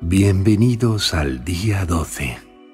Bienvenidos al día 12.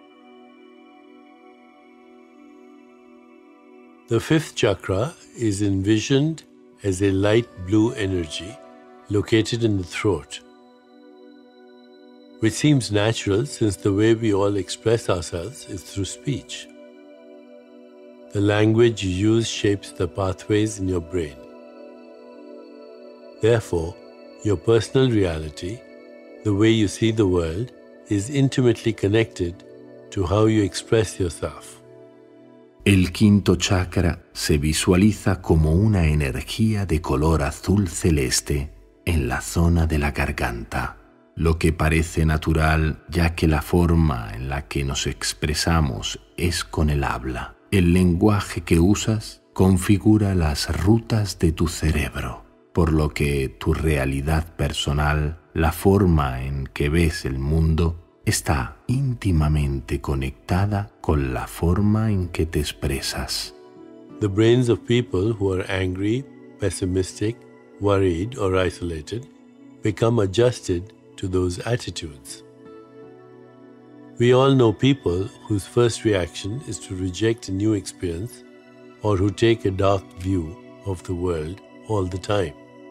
The fifth chakra is envisioned as a light blue energy located in the throat, which seems natural since the way we all express ourselves is through speech. The language you use shapes the pathways in your brain. Therefore, your personal reality, the way you see the world, is intimately connected to how you express yourself. El quinto chakra se visualiza como una energía de color azul celeste en la zona de la garganta, lo que parece natural ya que la forma en la que nos expresamos es con el habla. El lenguaje que usas configura las rutas de tu cerebro, por lo que tu realidad personal, la forma en que ves el mundo, está íntimamente conectada con la forma en que te expresas. The brains of people who are angry, pessimistic, worried, or isolated become adjusted to those attitudes. We all know people whose first reaction is to reject a new experience or who take a dark view of the world all the time.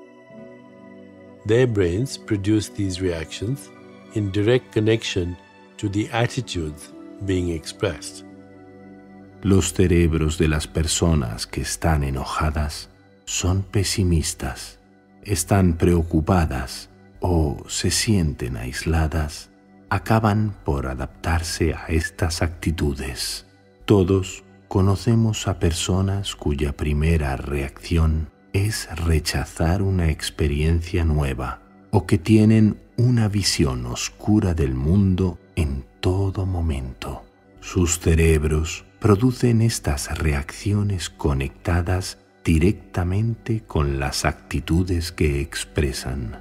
Their brains produce these reactions in direct connection to the attitudes being expressed. Los cerebros de las personas que están enojadas son pesimistas, están preocupadas o se sienten aisladas, acaban por adaptarse a estas actitudes. Todos conocemos a personas cuya primera reacción es rechazar una experiencia nueva o que tienen una visión oscura del mundo en todo momento. Sus cerebros producen estas reacciones conectadas directamente con las actitudes que expresan.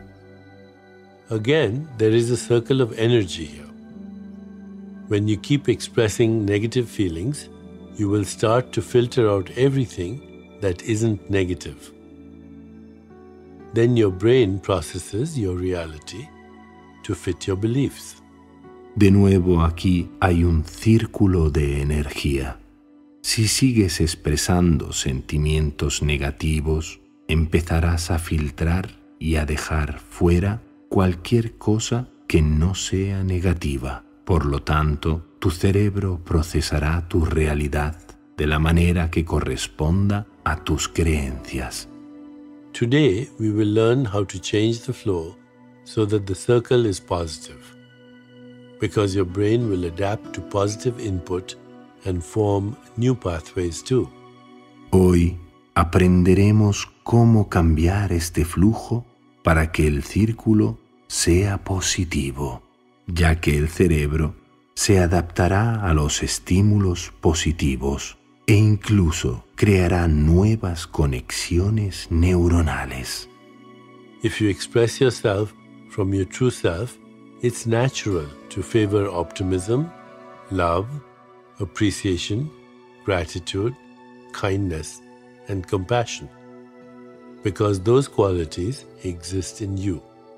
Again, there is a circle of energy here. When you keep expressing negative feelings, you will start to filter out everything that isn't negative. Then your brain processes your reality to fit your beliefs. De nuevo aquí hay un círculo de energía. Si sigues expresando sentimientos negativos, empezarás a filtrar y a dejar fuera cualquier cosa que no sea negativa. Por lo tanto, tu cerebro procesará tu realidad de la manera que corresponda a tus creencias. Today, we will learn how to change the flow so that the circle is positive, because your brain will adapt to positive input and form new pathways too. Hoy aprenderemos cómo cambiar este flujo para que el círculo sea positivo, ya que el cerebro se adaptará a los estímulos positivos e incluso creará nuevas conexiones neuronales. If you express yourself from your true self, it's natural to favor optimism, love, appreciation, gratitude, kindness, and compassion, because those qualities exist in you.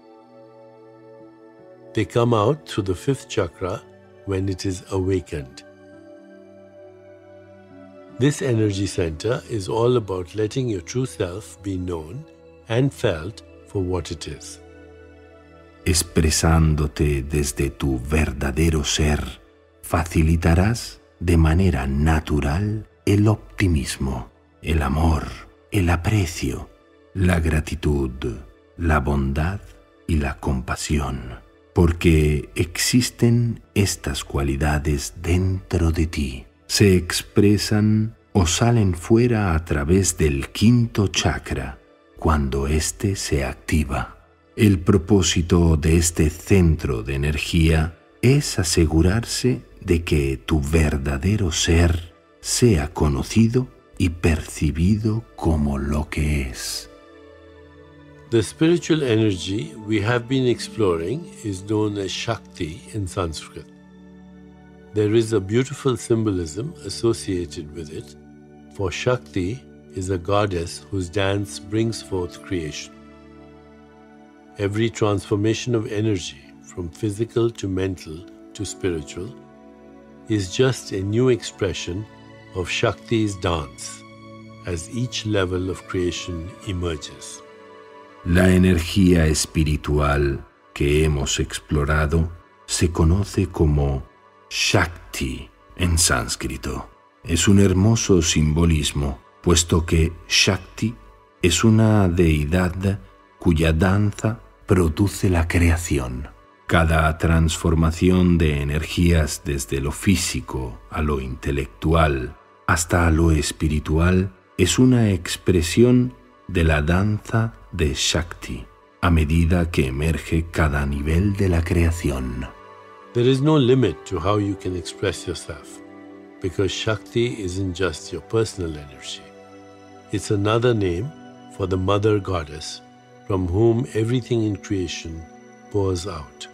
They come out through the fifth chakra when it is awakened. This energy center is all about letting your true self be known and felt for what it is. Expresándote desde tu verdadero ser, facilitarás de manera natural el optimismo, el amor, el aprecio, la gratitud, la bondad y la compasión, porque existen estas cualidades dentro de ti. Se expresan o salen fuera a través del quinto chakra cuando éste se activa. El propósito de este centro de energía es asegurarse de que tu verdadero ser sea conocido y percibido como lo que es. The spiritual energy we have been exploring is known as Shakti in Sanskrit. There is a beautiful symbolism associated with it, for Shakti is a goddess whose dance brings forth creation. Every transformation of energy from physical to mental to spiritual, is just a new expression of Shakti's dance as each level of creation emerges. La energía espiritual que hemos explorado se conoce como Shakti en sánscrito. Es un hermoso simbolismo, puesto que Shakti es una deidad cuya danza produce la creación. Cada transformación de energías desde lo físico a lo intelectual hasta lo espiritual es una expresión de la danza de Shakti a medida que emerge cada nivel de la creación. There is no limit to how you can express yourself, because Shakti isn't just your personal energy. It's another name for the Mother Goddess from whom everything in creation pours out.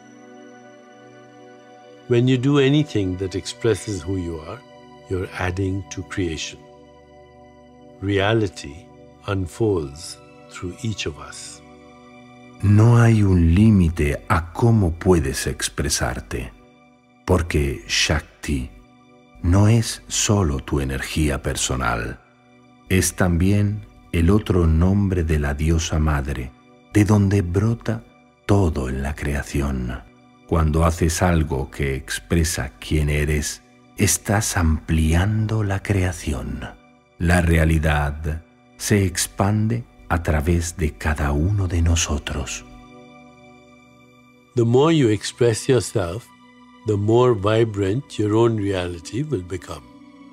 When you do anything that expresses who you are, you're adding to creation. Reality unfolds through each of us. No hay un límite a cómo puedes expresarte, porque Shakti no es solo tu energía personal, es también el otro nombre de la diosa madre, de donde brota todo en la creación. Cuando haces algo que expresa quién eres, estás ampliando la creación. La realidad se expande a través de cada uno de nosotros. The more you express yourself, the more vibrant your own reality will become.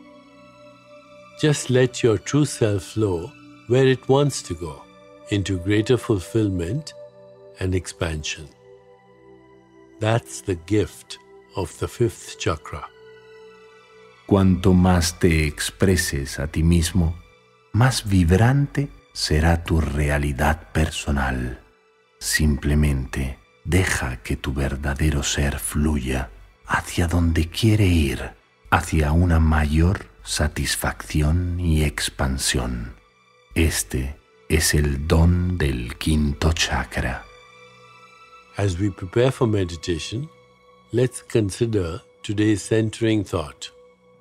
Just let your true self flow where it wants to go, into greater fulfillment and expansion. That's the gift of the fifth chakra. Cuanto más te expreses a ti mismo, más vibrante será tu realidad personal. Simplemente deja que tu verdadero ser fluya hacia donde quiere ir, hacia una mayor satisfacción y expansión. Este es el don del quinto chakra. As we prepare for meditation, let's consider today's centering thought.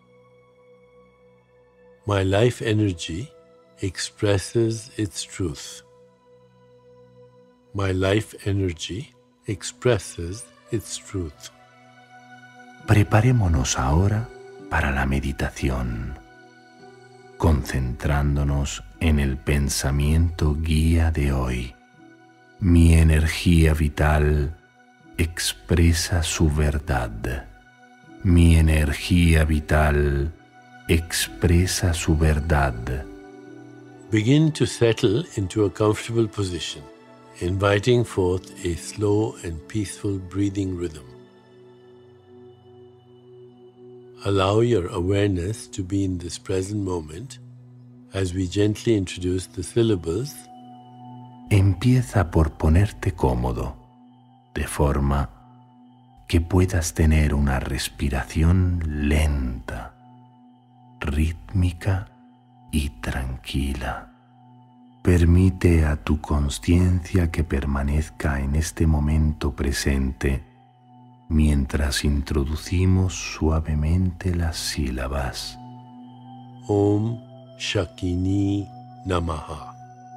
My life energy expresses its truth. My life energy expresses its truth. Preparémonos ahora para la meditación, concentrándonos en el pensamiento guía de hoy. Mi energía vital expresa su verdad. Mi energía vital expresa su verdad. Begin to settle into a comfortable position, inviting forth a slow and peaceful breathing rhythm. Allow your awareness to be in this present moment as we gently introduce the syllables. Empieza por ponerte cómodo, de forma que puedas tener una respiración lenta, rítmica y tranquila. Permite a tu conciencia que permanezca en este momento presente mientras introducimos suavemente las sílabas. Om Shakini Namaha.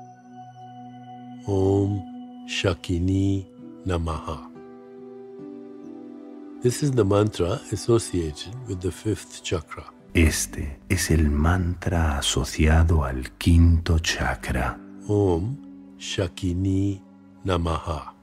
Om Shakini Namaha. This is the mantra associated with the fifth chakra. Este es el mantra asociado al quinto chakra. Om Shakini Namaha.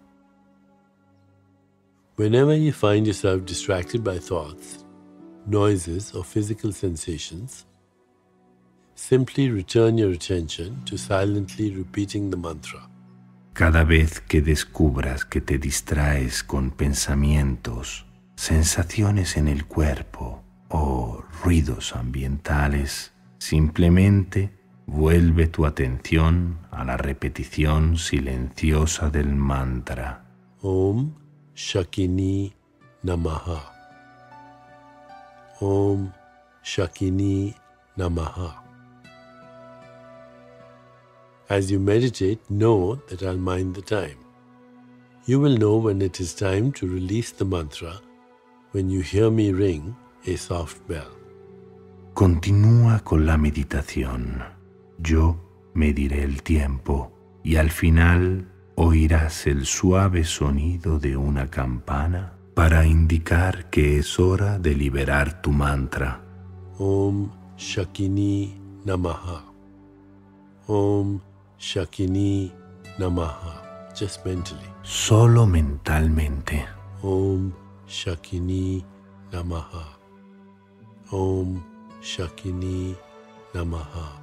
Whenever you find yourself distracted by thoughts, noises, or physical sensations, simply return your attention to silently repeating the mantra. Cada vez que descubras que te distraes con pensamientos, sensaciones en el cuerpo o ruidos ambientales, simplemente vuelve tu atención a la repetición silenciosa del mantra. Om Shakini Namaha. Om Shakini Namaha. As you meditate, know that I'll mind the time. You will know when it is time to release the mantra when you hear me ring a soft bell. Continúa con la meditación. Yo mediré el tiempo y al final oirás el suave sonido de una campana para indicar que es hora de liberar tu mantra. Om Shakini Namaha. Om Shakini Namaha. Just mentally. Solo mentalmente. Om Shakini Namaha. Om Shakini Namaha.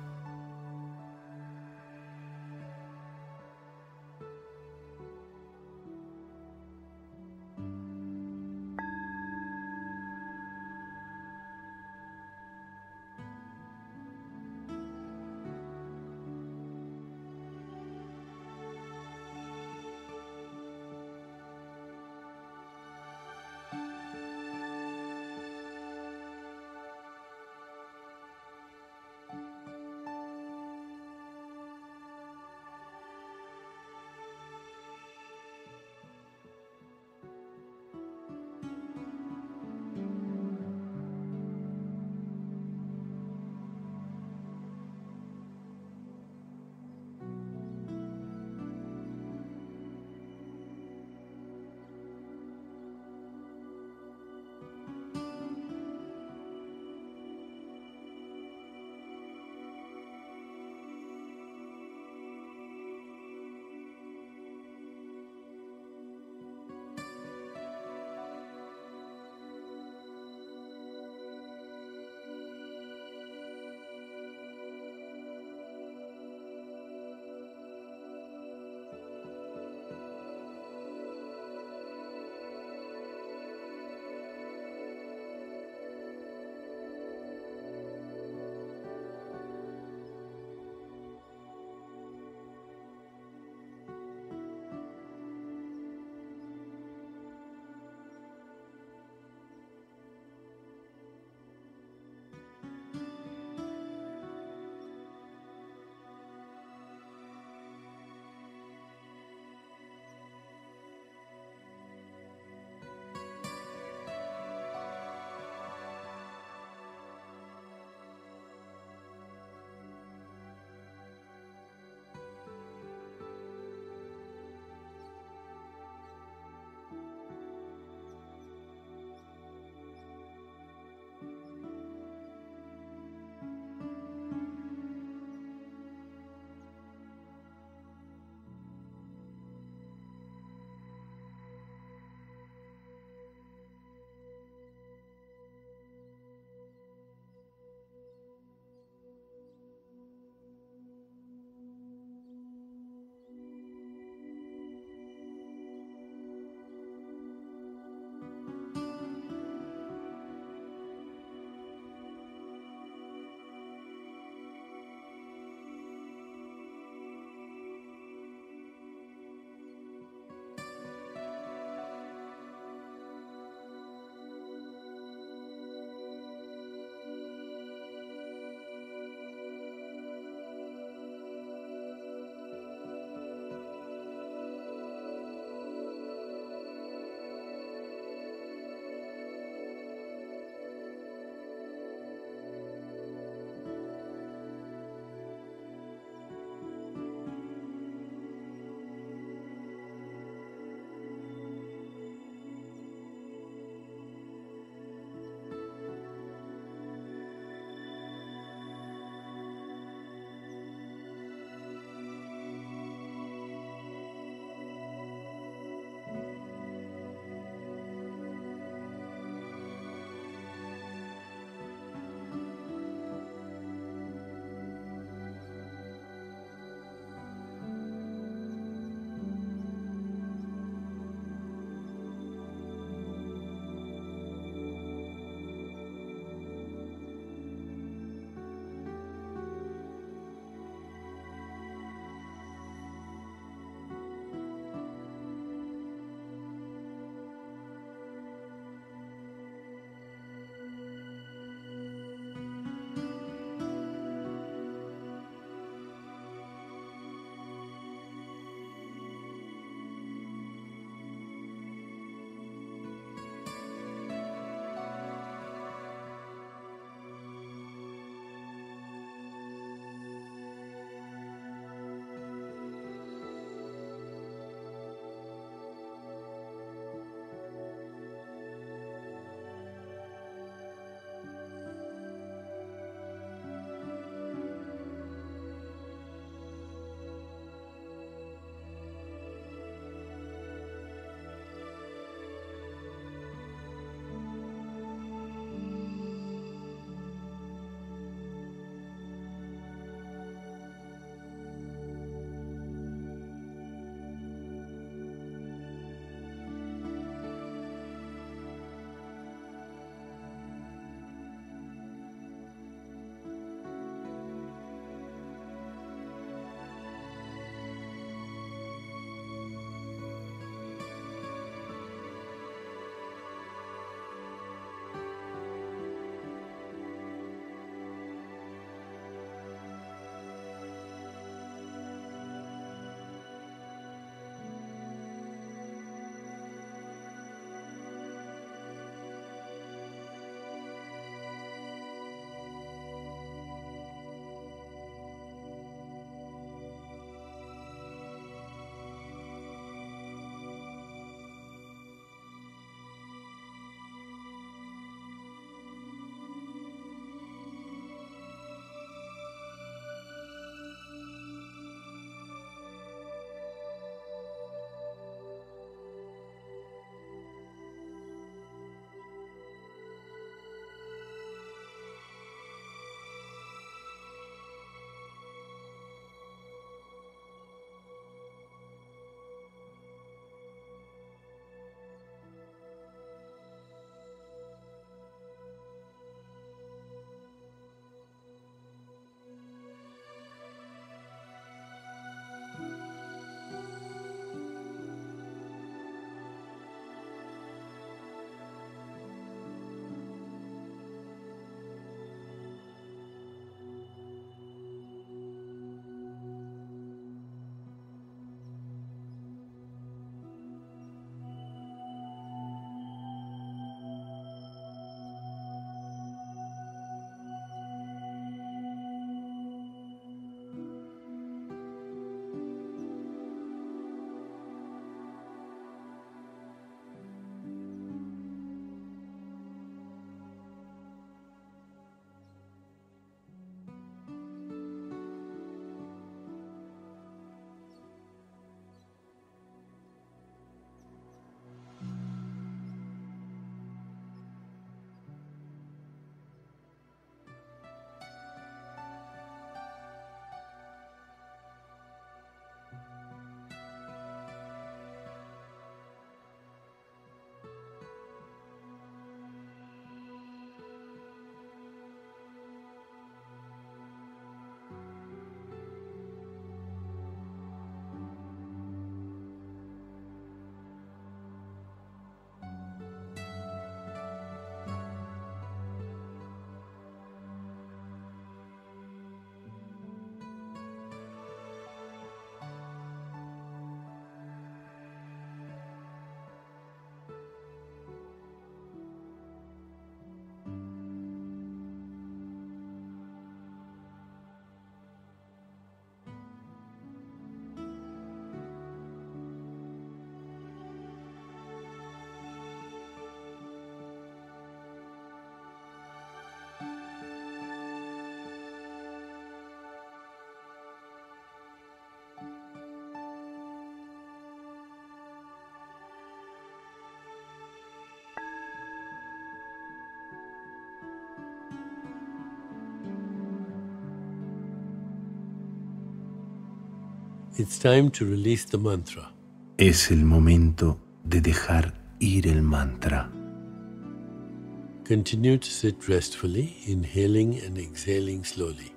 It's time to release the mantra. Es el momento de dejar ir el mantra. Continue to sit restfully, inhaling and exhaling slowly.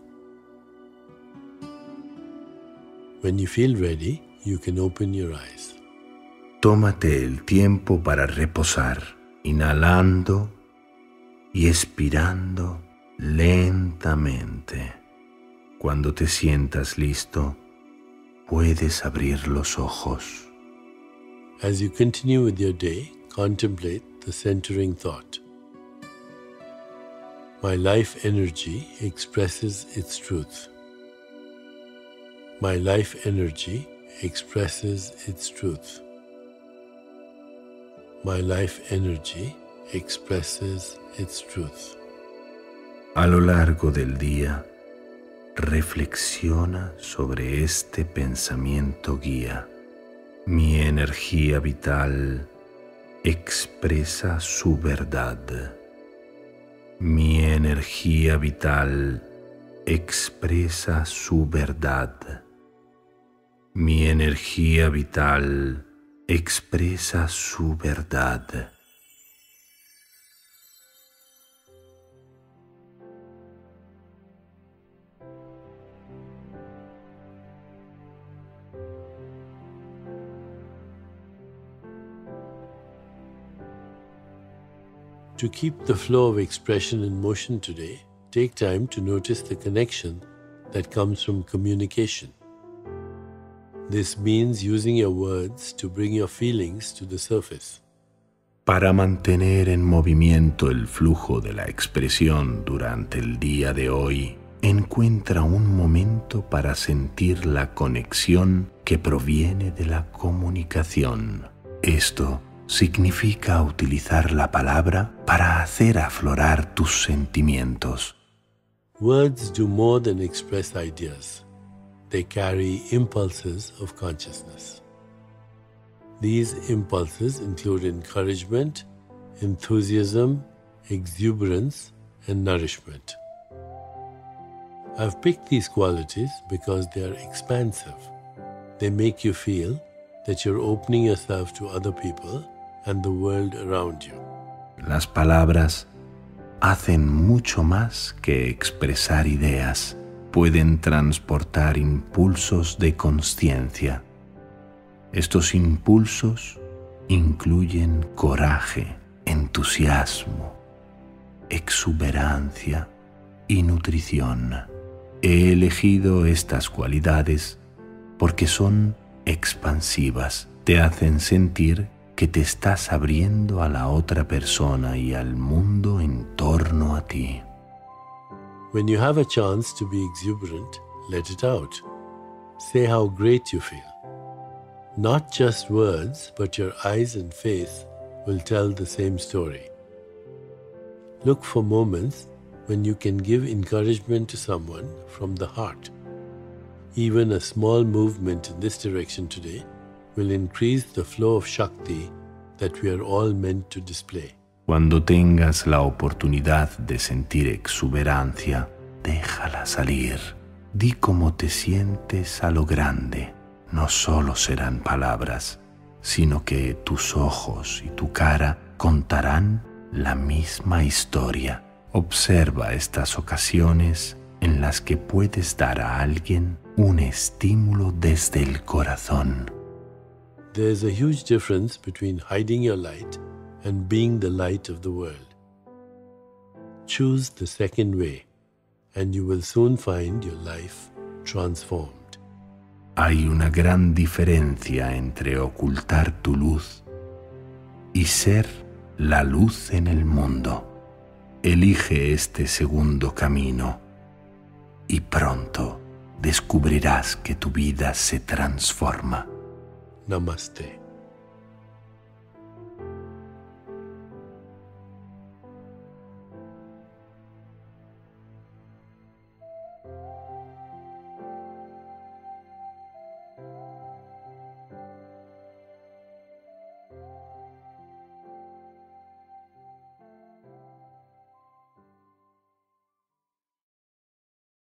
When you feel ready, you can open your eyes. Tómate el tiempo para reposar, inhalando y expirando lentamente. Cuando te sientas listo, puedes abrir los ojos. As you continue with your day, contemplate the centering thought. My life energy expresses its truth. My life energy expresses its truth. My life energy expresses its truth. A lo largo del día, reflexiona sobre este pensamiento guía. Mi energía vital expresa su verdad. Mi energía vital expresa su verdad. Mi energía vital expresa su verdad. To keep the flow of expression in motion today, take time to notice the connection that comes from communication. This means using your words to bring your feelings to the surface. Para mantener en movimiento el flujo de la expresión durante el día de hoy, encuentra un momento para sentir la conexión que proviene de la comunicación. Esto significa utilizar la palabra para hacer aflorar tus sentimientos. Words do more than express ideas. They carry impulses of consciousness. These impulses include encouragement, enthusiasm, exuberance, and nourishment. I've picked these qualities because they are expansive. They make you feel that you're opening yourself to other people and the world around you. Las palabras hacen mucho más que expresar ideas. Pueden transportar impulsos de conciencia. Estos impulsos incluyen coraje, entusiasmo, exuberancia y nutrición. He elegido estas cualidades porque son expansivas. Te hacen sentir que te estás abriendo a la otra persona y al mundo en torno a ti. When you have a chance to be exuberant, let it out. Say how great you feel. Not just words, but your eyes and face will tell the same story. Look for moments when you can give encouragement to someone from the heart. Even a small movement in this direction today will increase the flow of Shakti that we are all meant to display. Cuando tengas la oportunidad de sentir exuberancia, déjala salir. Di cómo te sientes a lo grande. No solo serán palabras, sino que tus ojos y tu cara contarán la misma historia. Observa estas ocasiones en las que puedes dar a alguien un estímulo desde el corazón. There's a huge difference between hiding your light and being the light of the world. Choose the second way, and you will soon find your life transformed. Hay una gran diferencia entre ocultar tu luz y ser la luz en el mundo. Elige este segundo camino y pronto descubrirás que tu vida se transforma. Namaste.